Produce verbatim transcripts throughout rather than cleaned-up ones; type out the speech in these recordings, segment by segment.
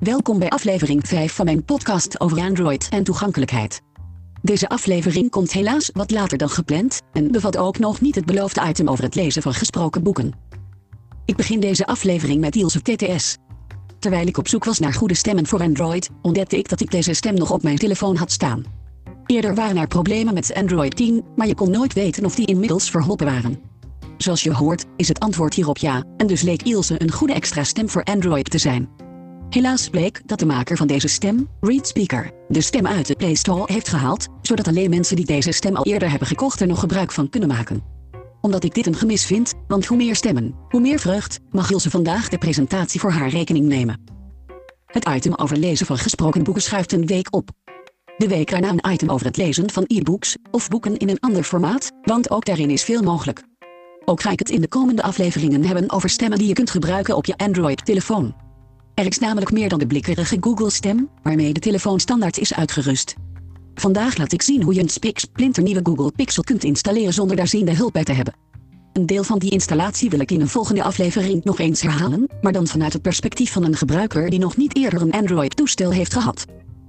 Welkom bij aflevering vijf van mijn podcast over Android en toegankelijkheid. Deze aflevering komt helaas wat later dan gepland en bevat ook nog niet het beloofde item over het lezen van gesproken boeken. Ik begin deze aflevering met Ilse T T S. Terwijl ik op zoek was naar goede stemmen voor Android, ontdekte ik dat ik deze stem nog op mijn telefoon had staan. Eerder waren er problemen met Android tien, maar je kon nooit weten of die inmiddels verholpen waren. Zoals je hoort, is het antwoord hierop ja, en dus leek Ilse een goede extra stem voor Android te zijn. Helaas bleek dat de maker van deze stem, ReadSpeaker, de stem uit de Play Store heeft gehaald, zodat alleen mensen die deze stem al eerder hebben gekocht er nog gebruik van kunnen maken. Omdat ik dit een gemis vind, want hoe meer stemmen, hoe meer vreugd, mag Ilse vandaag de presentatie voor haar rekening nemen. Het item over lezen van gesproken boeken schuift een week op. De week erna een item over het lezen van e-books, of boeken in een ander formaat, want ook daarin is veel mogelijk. Ook ga ik het in de komende afleveringen hebben over stemmen die je kunt gebruiken op je Android-telefoon. Er is namelijk meer dan de blikkerige Google-stem, waarmee de telefoon standaard is uitgerust. Vandaag laat ik zien hoe je een spiksplinternieuwe Google Pixel kunt installeren zonder daar ziende hulp bij te hebben. Een deel van die installatie wil ik in een volgende aflevering nog eens herhalen, maar dan vanuit het perspectief van een gebruiker die nog niet eerder een Android-toestel heeft gehad.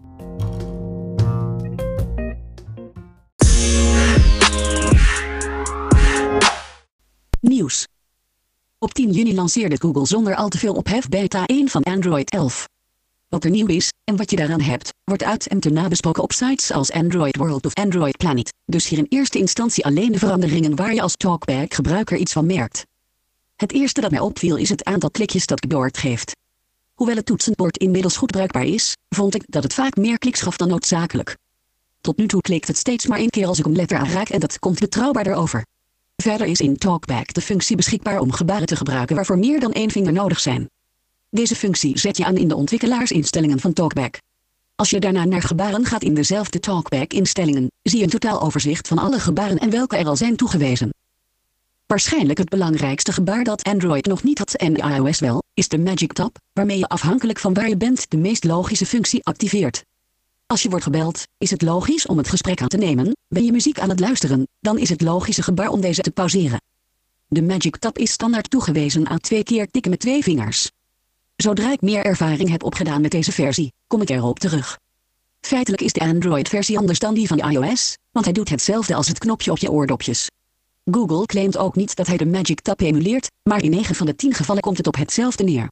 Nieuws. Op tien juni lanceerde Google zonder al te veel ophef beta één van Android elf. Wat er nieuw is, en wat je daaraan hebt, wordt uit en te nabesproken op sites als Android World of Android Planet, dus hier in eerste instantie alleen de veranderingen waar je als Talkback-gebruiker iets van merkt. Het eerste dat mij opviel is het aantal klikjes dat Keyboard geeft. Hoewel het toetsenbord inmiddels goed bruikbaar is, vond ik dat het vaak meer kliks gaf dan noodzakelijk. Tot nu toe klikt het steeds maar één keer als ik een letter aanraak en dat komt betrouwbaarder over. Verder is in Talkback de functie beschikbaar om gebaren te gebruiken waarvoor meer dan één vinger nodig zijn. Deze functie zet je aan in de ontwikkelaarsinstellingen van Talkback. Als je daarna naar gebaren gaat in dezelfde Talkback-instellingen, zie je een totaaloverzicht van alle gebaren en welke er al zijn toegewezen. Waarschijnlijk het belangrijkste gebaar dat Android nog niet had en iOS wel, is de Magic Tab, waarmee je afhankelijk van waar je bent de meest logische functie activeert. Als je wordt gebeld, is het logisch om het gesprek aan te nemen. Ben je muziek aan het luisteren, dan is het logische gebaar om deze te pauzeren. De Magic Tab is standaard toegewezen aan twee keer tikken met twee vingers. Zodra ik meer ervaring heb opgedaan met deze versie, kom ik erop terug. Feitelijk is de Android-versie anders dan die van iOS, want hij doet hetzelfde als het knopje op je oordopjes. Google claimt ook niet dat hij de Magic Tab emuleert, maar in negen van de tien gevallen komt het op hetzelfde neer.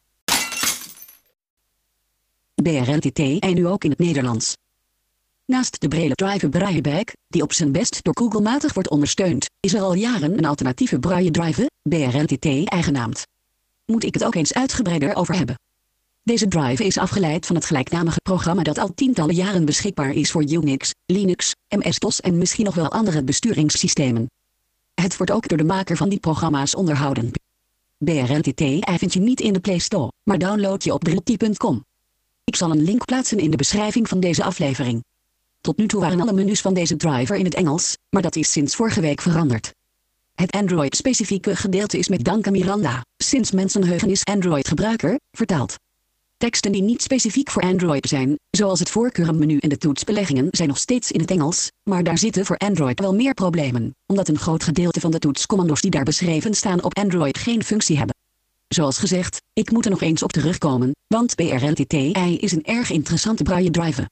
B R L T T en nu ook in het Nederlands. Naast de Braille Driver Brailleback, die op zijn best door Google matig wordt ondersteund, is er al jaren een alternatieve Braille Driver, B R L T T eigennaamd. Moet ik het ook eens uitgebreider over hebben. Deze drive is afgeleid van het gelijknamige programma dat al tientallen jaren beschikbaar is voor Unix, Linux, M S-DOS en misschien nog wel andere besturingssystemen. Het wordt ook door de maker van die programma's onderhouden. B R L T T vind je niet in de Play Store, maar download je op brilti punt com. Ik zal een link plaatsen in de beschrijving van deze aflevering. Tot nu toe waren alle menus van deze driver in het Engels, maar dat is sinds vorige week veranderd. Het Android-specifieke gedeelte is met dank aan Miranda, sinds mensenheugen is Android-gebruiker, vertaald. Teksten die niet specifiek voor Android zijn, zoals het voorkeurenmenu en de toetsbeleggingen, zijn nog steeds in het Engels, maar daar zitten voor Android wel meer problemen, omdat een groot gedeelte van de toetscommando's die daar beschreven staan op Android geen functie hebben. Zoals gezegd, ik moet er nog eens op terugkomen, want B R L T T is een erg interessante Braille driver.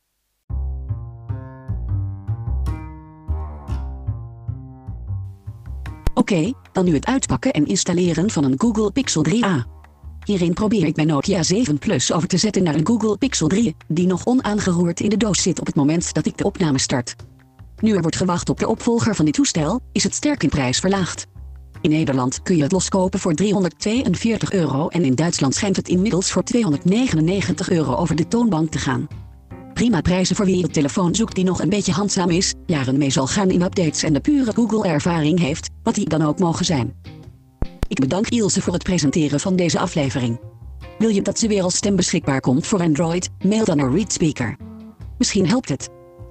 Oké, okay, dan nu het uitpakken en installeren van een Google Pixel drie a. Hierin probeer ik mijn Nokia zeven Plus over te zetten naar een Google Pixel drie, die nog onaangeroerd in de doos zit op het moment dat ik de opname start. Nu er wordt gewacht op de opvolger van dit toestel, is het sterk in prijs verlaagd. In Nederland kun je het loskopen voor driehonderdtweeënveertig euro en in Duitsland schijnt het inmiddels voor tweehonderdnegenennegentig euro over de toonbank te gaan. Prima prijzen voor wie een telefoon zoekt die nog een beetje handzaam is, jaren mee zal gaan in updates en de pure Google-ervaring heeft, wat die dan ook mogen zijn. Ik bedank Ilse voor het presenteren van deze aflevering. Wil je dat ze weer als stem beschikbaar komt voor Android, mail dan naar ReadSpeaker. Misschien helpt het.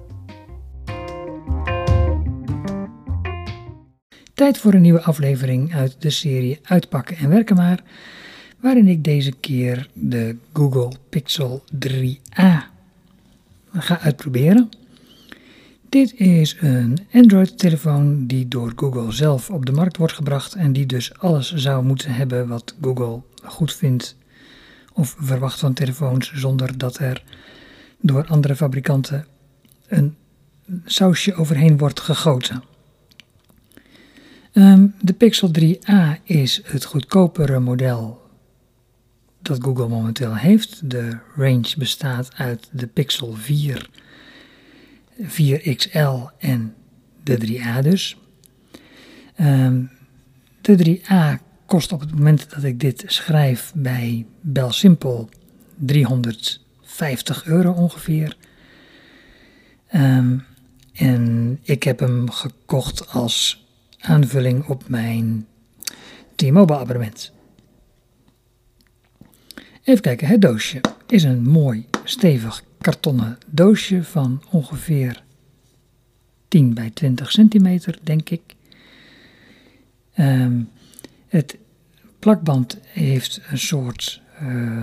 Tijd voor een nieuwe aflevering uit de serie Uitpakken en Werken maar, waarin ik deze keer de Google Pixel drie a ga uitproberen. Dit is een Android-telefoon die door Google zelf op de markt wordt gebracht en die dus alles zou moeten hebben wat Google goed vindt of verwacht van telefoons zonder dat er door andere fabrikanten een sausje overheen wordt gegoten. Um, de Pixel drie a is het goedkopere model dat Google momenteel heeft. De range bestaat uit de Pixel vier, vier X L en de drie a dus. Um, de drie a kost op het moment dat ik dit schrijf bij Belsimpel driehonderdvijftig euro ongeveer. Um, en ik heb hem gekocht als aanvulling op mijn T-Mobile abonnement. Even kijken, het doosje is een mooi stevig kartonnen doosje van ongeveer tien bij twintig centimeter, denk ik. Um, het plakband heeft een soort uh,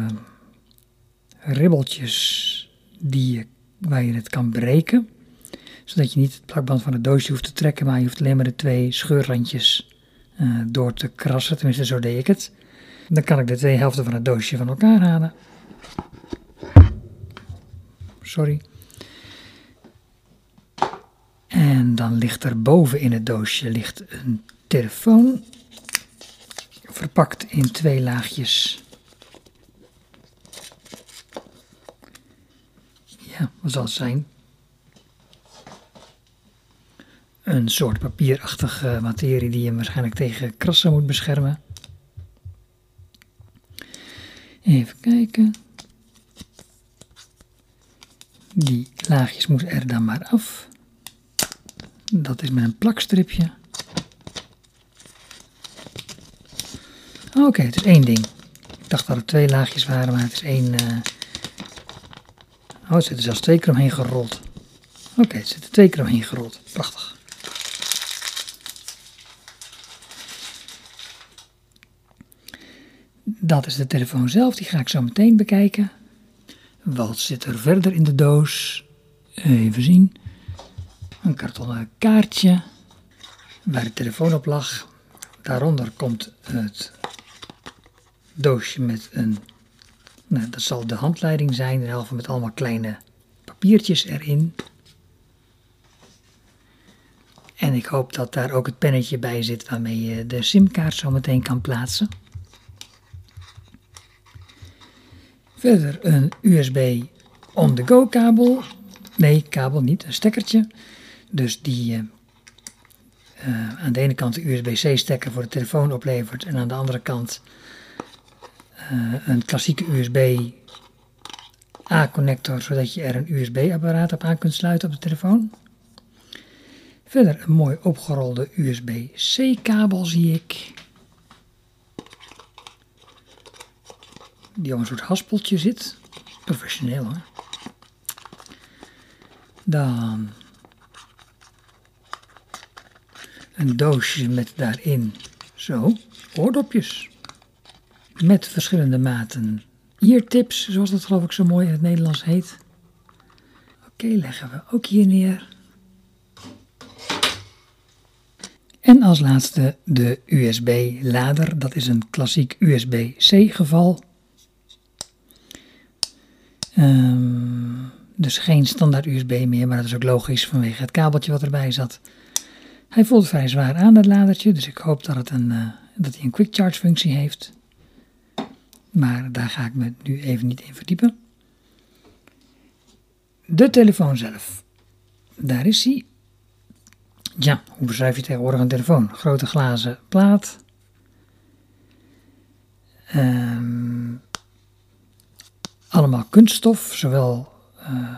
ribbeltjes die je, waar je het kan breken. Zodat je niet het plakband van het doosje hoeft te trekken, maar je hoeft alleen maar de twee scheurrandjes uh, door te krassen. Tenminste, zo deed ik het. Dan kan ik de twee helften van het doosje van elkaar halen. Sorry. En dan ligt er boven in het doosje ligt een telefoon. Verpakt in twee laagjes. Ja, wat zal het zijn? Een soort papierachtige materie die je waarschijnlijk tegen krassen moet beschermen. Even kijken. Die laagjes moeten er dan maar af. Dat is met een plakstripje. Oké, okay, het is één ding. Ik dacht dat het twee laagjes waren, maar het is één... Uh... Oh, het zit er zelfs twee keer omheen gerold. Oké, okay, het zit er twee keer omheen gerold. Prachtig. Dat is de telefoon zelf, die ga ik zo meteen bekijken. Wat zit er verder in de doos? Even zien. Een kartonnen kaartje waar de telefoon op lag. Daaronder komt het doosje met een, nou, dat zal de handleiding zijn, de helft met allemaal kleine papiertjes erin. En ik hoop dat daar ook het pennetje bij zit waarmee je de simkaart zo meteen kan plaatsen. Verder een U S B on-the-go kabel. Nee, kabel niet, een stekkertje. Dus die uh, uh, aan de ene kant de U S B C stekker voor de telefoon oplevert. En aan de andere kant uh, een klassieke U S B A connector. Zodat je er een U S B apparaat op aan kunt sluiten op de telefoon. Verder een mooi opgerolde U S B C kabel zie ik. Die op een soort haspeltje zit. Professioneel hoor. Dan een doosje met daarin zo oordopjes. Met verschillende maten eartips, zoals dat geloof ik zo mooi in het Nederlands heet. Oké, okay, leggen we ook hier neer. En als laatste de U S B lader. Dat is een klassiek U S B C geval. Um, dus geen standaard U S B meer, maar dat is ook logisch vanwege het kabeltje wat erbij zat. Hij voelt vrij zwaar aan, dat ladertje, dus ik hoop dat, het een, uh, dat hij een quick charge functie heeft. Maar daar ga ik me nu even niet in verdiepen. De telefoon zelf. Daar is hij. Ja, hoe beschrijf je tegenwoordig een telefoon? Grote glazen plaat. Um, allemaal kunststof, zowel uh,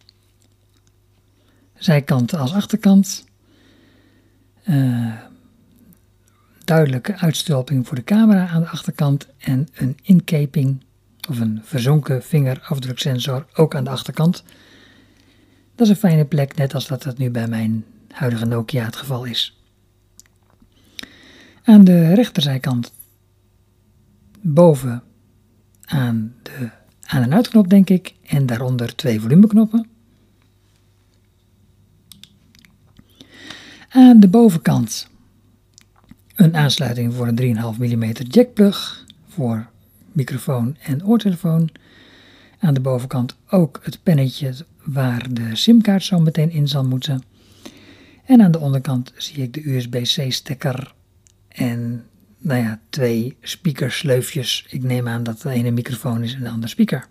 zijkant als achterkant. Uh, duidelijke uitstulping voor de camera aan de achterkant en een inkeping of een verzonken vingerafdruksensor ook aan de achterkant. Dat is een fijne plek, net als dat het nu bij mijn huidige Nokia het geval is. Aan de rechterzijkant boven aan de aan- en uitknop denk ik en daaronder twee volumeknoppen. Aan de bovenkant een aansluiting voor een drie komma vijf millimeter jackplug voor microfoon en oortelefoon. Aan de bovenkant ook het pennetje waar de simkaart zo meteen in zal moeten. En aan de onderkant zie ik de U S B C stekker en nou ja, twee speakersleufjes. Ik neem aan dat de ene microfoon is en de andere speaker.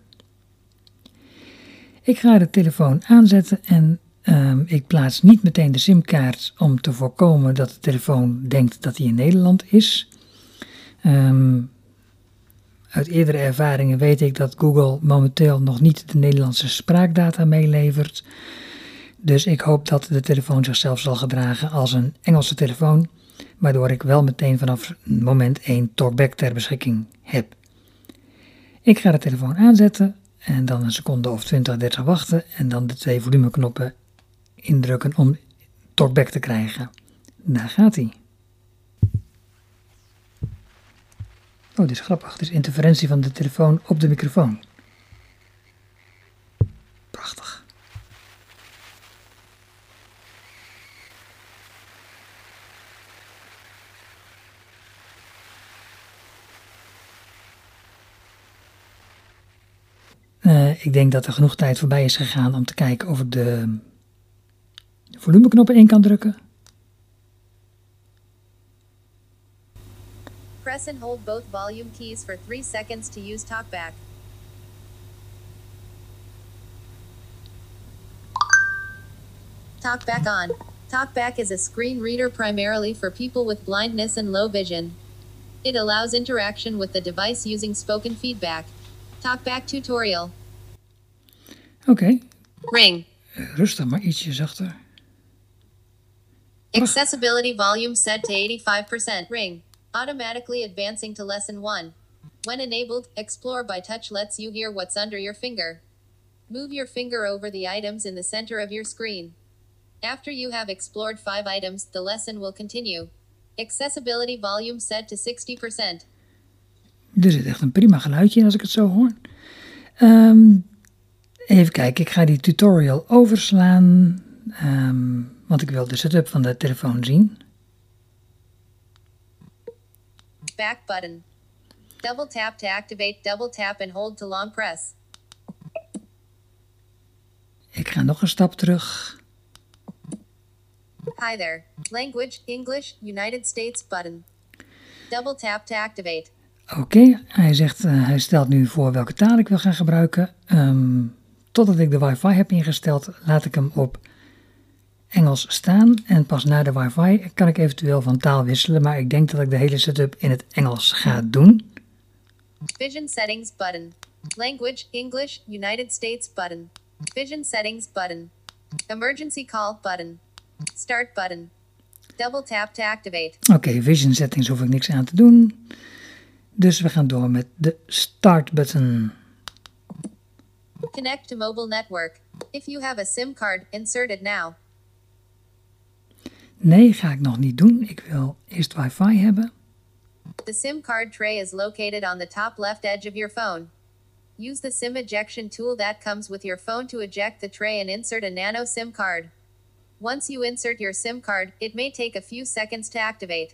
Ik ga de telefoon aanzetten en um, ik plaats niet meteen de simkaart om te voorkomen dat de telefoon denkt dat hij in Nederland is. Um, uit eerdere ervaringen weet ik dat Google momenteel nog niet de Nederlandse spraakdata meelevert. Dus ik hoop dat de telefoon zichzelf zal gedragen als een Engelse telefoon, waardoor ik wel meteen vanaf moment één TalkBack ter beschikking heb. Ik ga de telefoon aanzetten en dan een seconde of twintig, dertig wachten en dan de twee volumeknoppen indrukken om TalkBack te krijgen. Daar gaat hij. Oh, dit is grappig. Het is interferentie van de telefoon op de microfoon. Prachtig. Uh, ik denk dat er genoeg tijd voorbij is gegaan om te kijken of ik de volumeknoppen in kan drukken. Press and hold both volume keys for three seconds to use TalkBack. TalkBack on. TalkBack is a screen reader primarily for people with blindness and low vision. It allows interaction with the device using spoken feedback. TalkBack tutorial. Oké. Okay. Ring. Rustig, maar ietsje zachter. Accessibility volume set to eighty-five percent. Ring. Automatically advancing to lesson one. When enabled, Explore by Touch lets you hear what's under your finger. Move your finger over the items in the center of your screen. After you have explored five items, the lesson will continue. Accessibility volume set to sixty percent. Er zit echt een prima geluidje in als ik het zo hoor. Um, even kijken, ik ga die tutorial overslaan, um, want ik wil de setup van de telefoon zien. Back button. Double tap to activate, double tap and hold to long press. Ik ga nog een stap terug. Hi there. Language, English, United States button. Double tap to activate. Oké, okay, hij zegt, uh, hij stelt nu voor welke taal ik wil gaan gebruiken. Um, totdat ik de wifi heb ingesteld, laat ik hem op Engels staan. En pas na de wifi kan ik eventueel van taal wisselen, maar ik denk dat ik de hele setup in het Engels ga doen. Vision settings button. Language, English, United States button. Vision settings button. Emergency call button. Start button. Double tap to activate. Oké, okay, vision settings hoef ik niks aan te doen. Dus we gaan door met de start button. Connect to mobile network. If you have a SIM card, insert it now. Nee, ga ik nog niet doen. Ik wil eerst wifi hebben. The SIM card tray is located on the top left edge of your phone. Use the SIM ejection tool that comes with your phone to eject the tray and insert a nano SIM card. Once you insert your SIM card, it may take a few seconds to activate.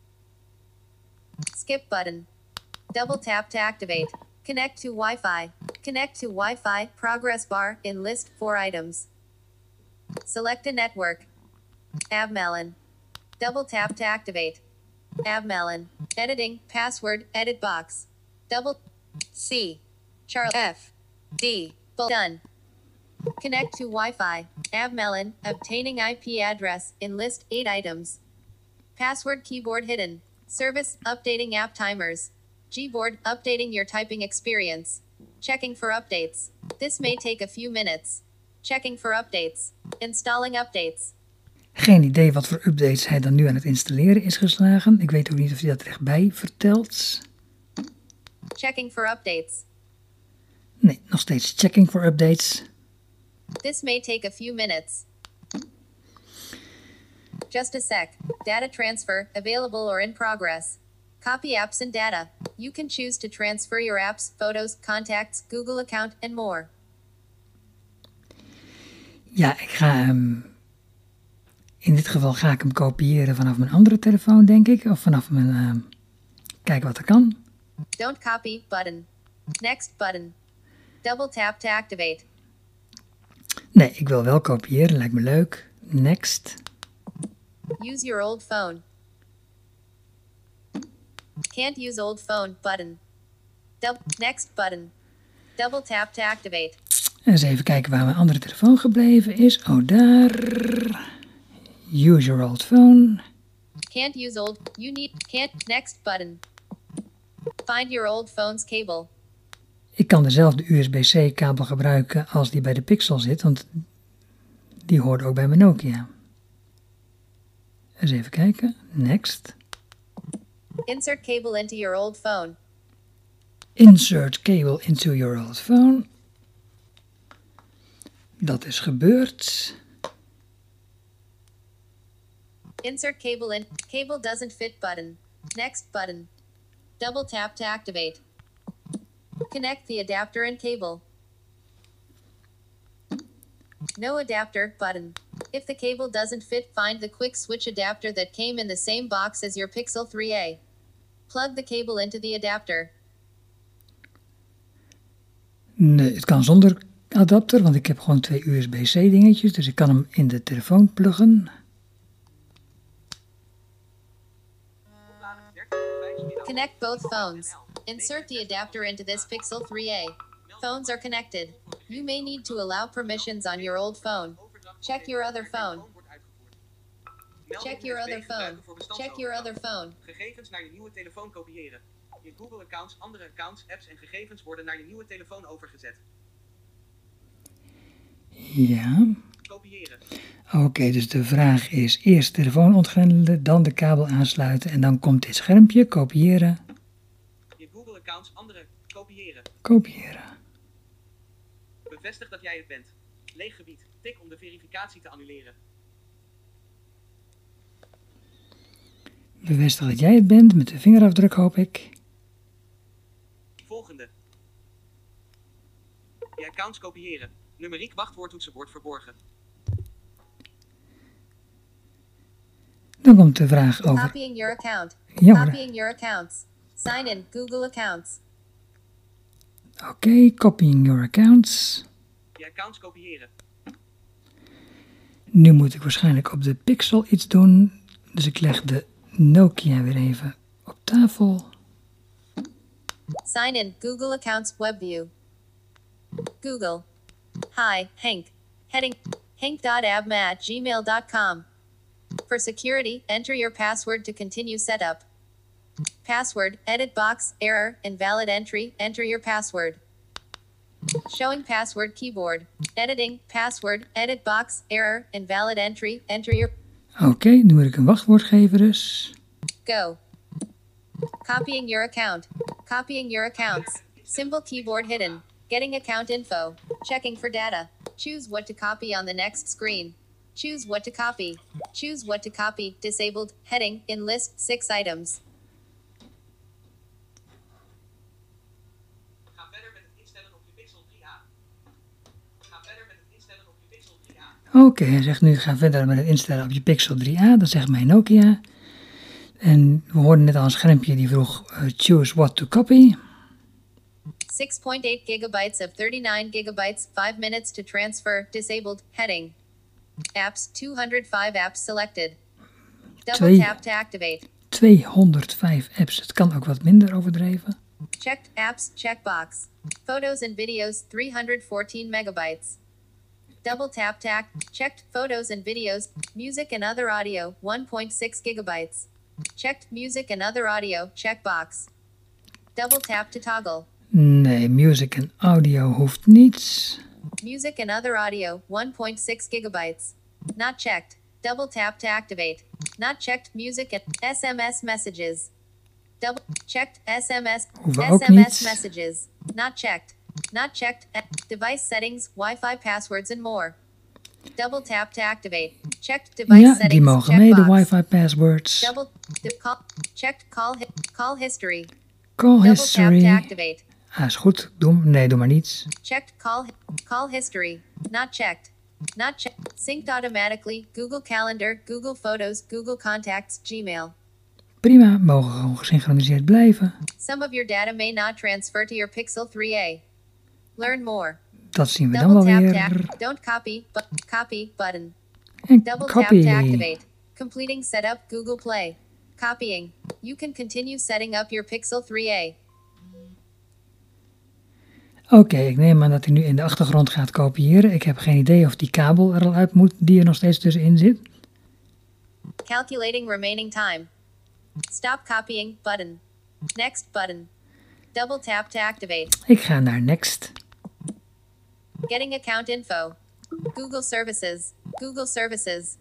Skip button. Double tap to activate. Connect to Wi-Fi. Connect to Wi-Fi, progress bar, in list four items. Select a network. AvMelon. Double tap to activate. AvMelon. Editing, password, edit box. Double C. Charles F. D. Done. Connect to Wi-Fi. AvMelon. Obtaining I P address, in list eight items. Password keyboard hidden. Service, updating app timers. Gboard, updating your typing experience. Checking for updates. This may take a few minutes. Checking for updates. Installing updates. Geen idee wat voor updates hij dan nu aan het installeren is geslagen. Ik weet ook niet of hij dat rechtbij vertelt. Checking for updates. Nee, nog steeds checking for updates. This may take a few minutes. Just a sec. Data transfer, available or in progress. Copy apps and data. You can choose to transfer your apps, photos, contacts, Google account and more. Ja, ik ga hem... In dit geval ga ik hem kopiëren vanaf mijn andere telefoon, denk ik. Of vanaf mijn... Uh, kijken wat er kan. Don't copy button. Next button. Double tap to activate. Nee, ik wil wel kopiëren, lijkt me leuk. Next. Use your old phone. Can't use old phone button. Dub next button. Double tap to activate. Eens even kijken waar mijn andere telefoon gebleven is. Oh, daar. Use your old phone. Can't use old. You need. Can't. Next button. Find your old phone's cable. Ik kan dezelfde U S B C kabel gebruiken als die bij de Pixel zit, want die hoort ook bij mijn Nokia. Eens even kijken. Next. Insert cable into your old phone. Insert cable into your old phone. Dat is gebeurd. Insert cable in. Cable doesn't fit button. Next button. Double tap to activate. Connect the adapter and cable. No adapter button. If the cable doesn't fit, find the quick switch adapter that came in the same box as your Pixel three A. Plug the cable into the adapter. Nee, het kan zonder adapter, want ik heb gewoon twee U S B C dingetjes, dus ik kan hem in de telefoon pluggen. Connect both phones. Insert the adapter into this Pixel three A. Phones are connected. You may need to allow permissions on your old phone. Check your other phone. Check your other phone. Check your other phone. Gegevens naar je nieuwe telefoon kopiëren. Je Google-accounts, andere accounts, apps en gegevens worden naar je nieuwe telefoon overgezet. Ja. Kopiëren. Oké, okay, dus de vraag is eerst de telefoon ontgrendelen, dan de kabel aansluiten en dan komt dit schermpje, kopiëren. Je Google-accounts, andere, kopiëren. Kopiëren. Bevestig dat jij het bent. Leeg gebied. Tik om de verificatie te annuleren. Bevestig dat jij het bent met de vingerafdruk, hoop ik. Volgende. Je accounts kopiëren. Numeriek wachtwoordtoetsenbord verborgen. Dan komt de vraag over... Copying your account. Ja, Copying your accounts. Sign in Google accounts. Oké, okay, copying your accounts. Je accounts kopiëren. Nu moet ik waarschijnlijk op de Pixel iets doen. Dus ik leg de Nokia weer even op tafel. Sign in Google accounts webview. Google. Hi, Hank. Heading hank dot abma at gmail dot com. For security, enter your password to continue setup. Password, edit box, error, invalid entry, enter your password. Showing password keyboard. Editing, password, edit box, error, invalid entry, enter your... Oké, okay, nu moet ik een wachtwoord geven dus. Go. Copying your account. Copying your accounts. Symbol keyboard hidden. Getting account info. Checking for data. Choose what to copy on the next screen. Choose what to copy. Choose what to copy. Disabled. Heading. In list. Six items. Ga verder met het instellen op je Pixel drie A. Ga verder met het instellen op je Pixel drie A. Oké, okay, hij zegt nu ga verder met het instellen op je Pixel drie A. Dat zegt mijn Nokia. En we hoorden net al een schermpje die vroeg uh, choose what to copy. six point eight gigabytes of thirty-nine gigabytes, five minutes to transfer, disabled, heading. Apps, two hundred five apps selected. Double Twee, tap to activate. tweehonderdvijf apps, het kan ook wat minder overdreven. Checked apps, checkbox. Photos and videos, three hundred fourteen megabytes. Double tap to act, checked photos and videos, music and other audio, one point six gigabytes. Checked music and other audio, checkbox. Double tap to toggle. Nee, music en audio hoeft niet. Music and other audio, one point six gigabytes. Not checked. Double tap to activate. Not checked music and S M S messages. Double checked S M S. Hoeven ook S M S niet. messages. Not checked. Not checked. Device settings, Wi-Fi passwords and more. Double tap to activate. Checked device Ja, settings. die mogen mee, de checkbox. wifi passwords. Double de, call, checked call hi, call history. Call Double tap history. to activate. Ah, is goed. Doe hem. Nee, doe maar niets. Checked call hi- call history. Not checked. Not checked. Synced automatically. Google Calendar, Google Photos, Google Contacts, Gmail. prima, mogen gewoon gesynchroniseerd blijven. Some of your data may not transfer to your Pixel three A. Learn more. Dat zien we dan wel Double tap weer. to don't copy, but copy button. En Double tap copy. to activate. Completing setup Google Play. Copying. You can continue setting up your Pixel three A. Oké, okay, ik neem aan dat hij nu in de achtergrond gaat kopiëren. Ik heb geen idee of die kabel er al uit moet die er nog steeds tussenin zit. Calculating remaining time. Stop copying button. Next button. Double tap to activate. Ik ga naar next. Getting account info. Google Services. Google Services.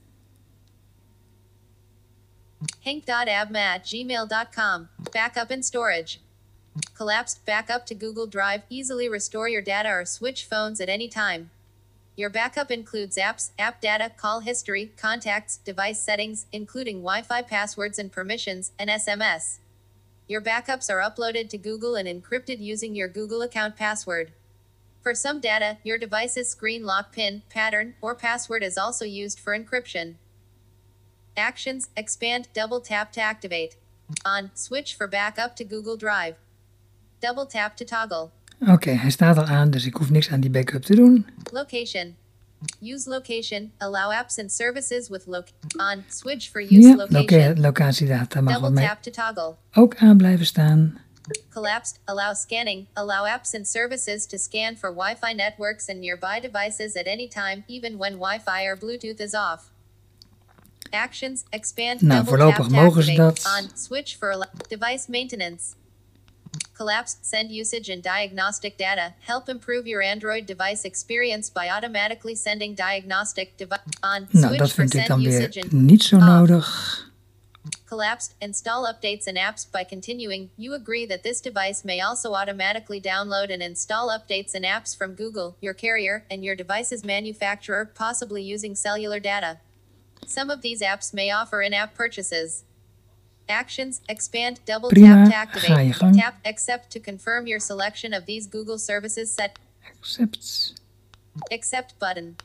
Hank dot abma at gmail dot com. Backup and storage. Collapsed backup to Google Drive. Easily restore your data or switch phones at any time. Your backup includes apps, app data, call history, contacts, device settings, including Wi-Fi passwords and permissions, and S M S. Your backups are uploaded to Google and encrypted using your Google account password. For some data, your device's screen lock PIN, pattern, or password is also used for encryption. Actions, expand, double tap to activate. On, switch for backup to Google Drive. Double tap to toggle. Oké, okay, hij staat al aan, dus ik hoef niks aan die backup te doen. Location. Use location. Allow apps and services with loc on. Switch for use Ja, location. loca locatiedata mag Double bij mij tap to toggle. ook aan blijven staan. Collapsed. Allow scanning. Allow apps and services to scan for Wi-Fi networks and nearby devices at any time, even when Wi-Fi or Bluetooth is off. Actions. Expand. Nou, double voorlopig tap to mogen ze activate. dat. On. Switch for al- device maintenance. Collapsed. Send usage and diagnostic data. Help improve your Android device experience by automatically sending diagnostic device on. Nou, Switch dat for vind ik send dan usage weer and niet zo off. nodig. Collapsed. Install updates and apps by continuing. You agree that this device may also automatically download and install updates and apps from Google, your carrier, and your device's manufacturer, possibly using cellular data. Some of these apps may offer in-app purchases. Actions, expand, double Prima, tap to activate. ga je gang. Tap accept to confirm your selection of these Google services set. Accept. Accept button.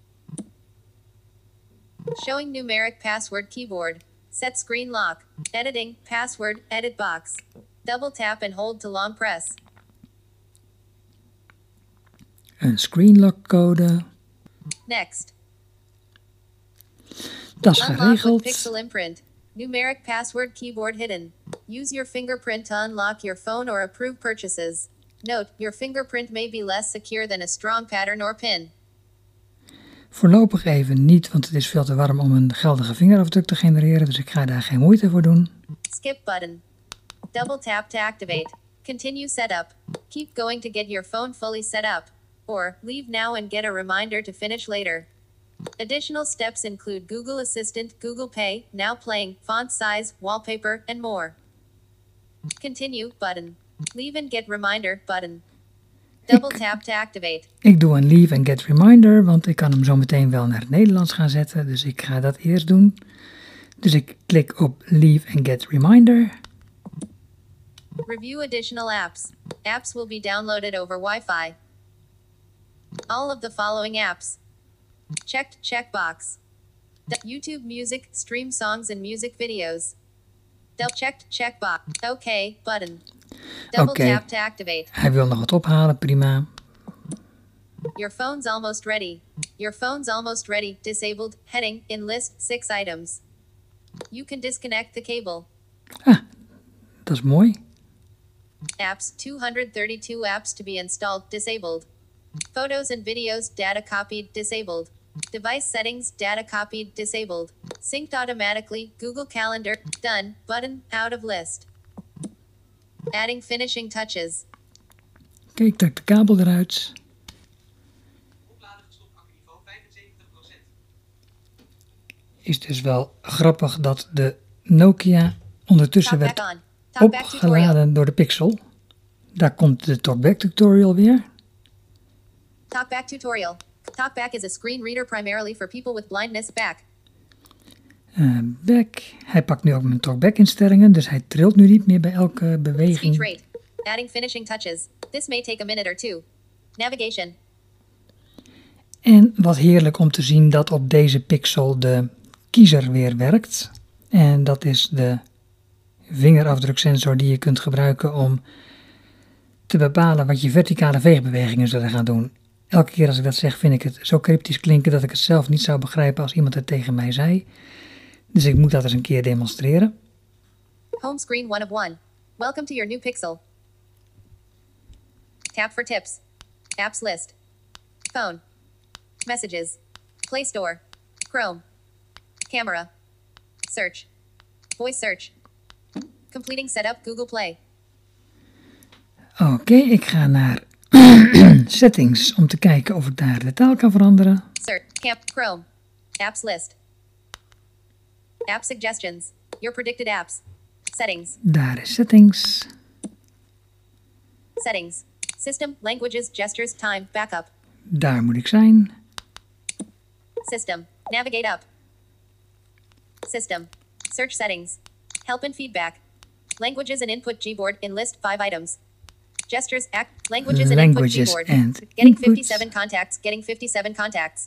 Showing numeric password keyboard. Set screen lock. Editing, password, edit box. Double tap and hold to long press. Een screenlock code. Next. Dat is Unlock with geregeld. Pixel imprint. Numeric password keyboard hidden. Use your fingerprint to unlock your phone or approve purchases. Note, your fingerprint may be less secure than a strong pattern or pin. Voorlopig even niet, want het is veel te warm om een geldige vingerafdruk te genereren, dus ik ga daar geen moeite voor doen. Skip button. Double tap to activate. Continue setup. Keep going to get your phone fully set up. Or, leave now and get a reminder to finish later. Additional steps include Google Assistant, Google Pay, Now Playing, font size, wallpaper, and more. Continue button. Leave and get reminder button. Double Ik- tap to activate. Ik doe een leave and get reminder, want ik kan hem zo meteen wel naar het Nederlands gaan zetten, dus ik ga dat eerst doen. Dus ik klik op leave and get reminder. Review additional apps. Apps will be downloaded over Wi-Fi. All of the following apps. Checked checkbox. The YouTube Music, stream songs and music videos. Double checked checkbox. OK button. Double Oké. tap to activate. Hij wil nog wat ophalen, prima. Your phone's almost ready. Your phone's almost ready. Disabled. Heading. In list. Six items. You can disconnect the cable. Dat is mooi. Apps. two hundred thirty-two apps to be installed. Disabled. Photos and videos. Data copied. Disabled. Device settings. Data copied. Disabled. Synced automatically. Google Calendar. Done. Button. Out of list. Adding finishing touches. Kijk, ik trek de kabel eruit. Opladen gestopt accuniveau vijfenzeventig procent. Is dus wel grappig dat de Nokia ondertussen Talkback werd on. Talkback tutorial. opgeladen door de Pixel. Daar komt de Talkback tutorial weer. Talkback tutorial. Talkback is a screen reader primarily for people with blindness. Back. Uh, back. Hij pakt nu ook mijn Talkback instellingen, dus hij trilt nu niet meer bij elke Speech beweging. rate. Adding finishing touches. This may take a minute or two. Navigation. En wat heerlijk om te zien dat op deze Pixel de kiezer weer werkt. En dat is de vingerafdruksensor die je kunt gebruiken om te bepalen wat je verticale veegbewegingen zullen gaan doen. Elke keer als ik dat zeg vind ik het zo cryptisch klinken dat ik het zelf niet zou begrijpen als iemand het tegen mij zei. Dus ik moet dat eens een keer demonstreren. Home screen one of one. Welcome to your new Pixel. Tap for tips. Apps list. Phone. Messages. Play Store. Chrome. Camera. Search. Voice search. Completing setup Google Play. Oké, okay, ik ga naar settings om te kijken of ik daar de taal kan veranderen. Search. Camp. Chrome. Apps list. App suggestions. Your predicted apps. Settings. Daar is settings. Settings. System, languages, gestures, time, backup. Daar moet ik zijn. System. Navigate up. System. Search settings. Help and feedback. Languages and input Gboard in list five items. Gestures, act, languages and Languages input Gboard. and Getting input. fifty-seven contacts, getting fifty-seven contacts.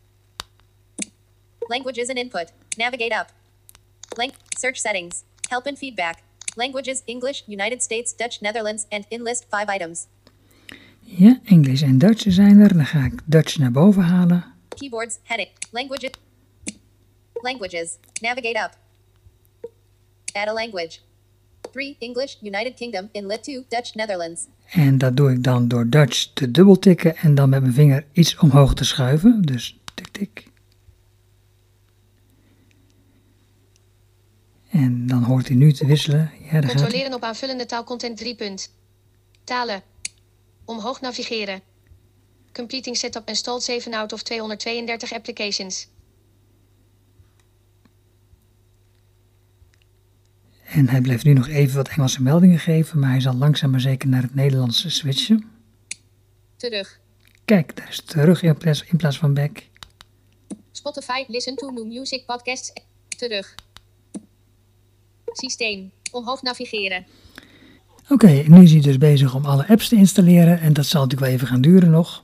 Languages and input. Navigate up. Lang search settings. Help and feedback. Languages, English, United States, Dutch, Netherlands, and in list five items. Ja, Engels en Duits zijn er. Dan ga ik Dutch naar boven halen. Keyboards, heading, languages. Languages. Navigate up. Add a language. three. English, United Kingdom, inlet two, Dutch, Netherlands. En dat doe ik dan door Dutch te dubbeltikken en dan met mijn vinger iets omhoog te schuiven. Dus tik tik. En dan hoort hij nu te wisselen. Ja, daar gaat hij. Controleren op aanvullende taalcontent drie punt. Talen. Omhoog navigeren. Completing setup installed zeven out of tweehonderdtweeëndertig applications. En hij blijft nu nog even wat Engelse meldingen geven, maar hij zal langzaam maar zeker naar het Nederlands switchen. Terug. Kijk, daar is terug in plaats, in plaats van back. Spotify, listen to new music podcasts. Terug. Systeem. Omhoog navigeren. Oké, okay, nu is hij dus bezig om alle apps te installeren en dat zal natuurlijk wel even gaan duren nog.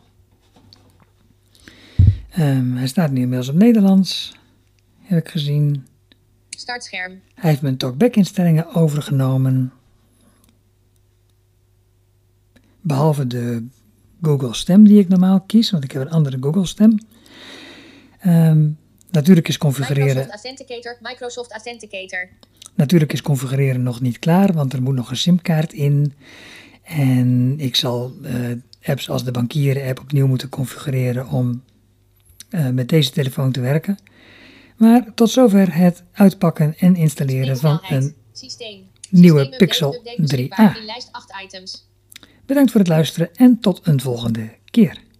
Um, hij staat nu inmiddels op Nederlands, heb ik gezien. Startscherm. Hij heeft mijn talkback instellingen overgenomen. Behalve de Google stem die ik normaal kies, want ik heb een andere Google stem. Um, natuurlijk is configureren... Microsoft Authenticator, Microsoft Authenticator. Natuurlijk is configureren nog niet klaar, want er moet nog een simkaart in. En ik zal uh, apps als de bankieren app opnieuw moeten configureren om uh, met deze telefoon te werken. Maar tot zover het uitpakken en installeren van een Systeem. nieuwe Systeem Pixel update drie beschikbaar a. in lijst acht items. Bedankt voor het luisteren en tot een volgende keer.